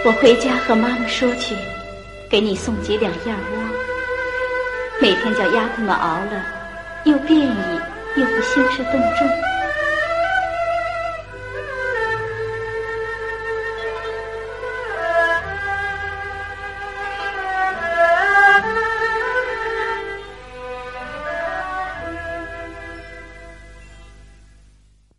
我回家和妈妈说去，给你送几两燕窝，每天叫丫头们熬了，又便宜又不兴师动众。